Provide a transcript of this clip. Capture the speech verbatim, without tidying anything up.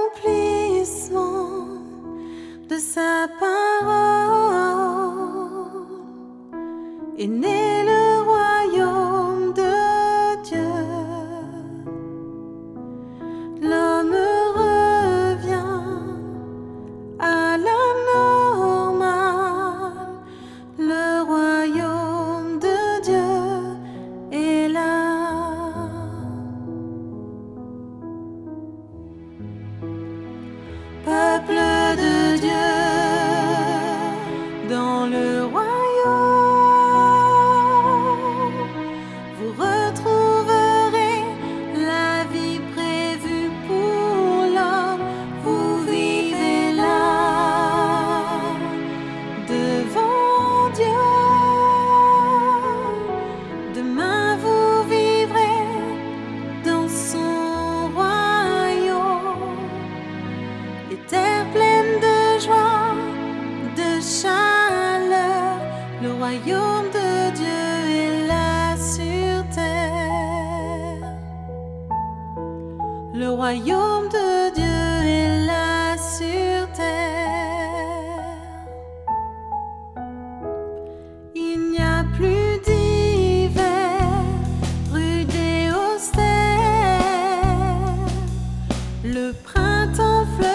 l'accomplissement de sa parole est né le royaume de Dieu. L'homme revient à la normale, le royaume de Dieu est là. Peuple de Dieu, dans le royaume, vous retrouverez la vie prévue pour l'homme. Vous vivez là, devant Dieu. Demain vous vivrez dans son royaume. Les terres pleines de joie, de chaleur, le royaume de Dieu est là sur terre. Le royaume de Dieu est là sur terre. Il n'y a plus d'hiver, rude et austère. Le printemps fleurit.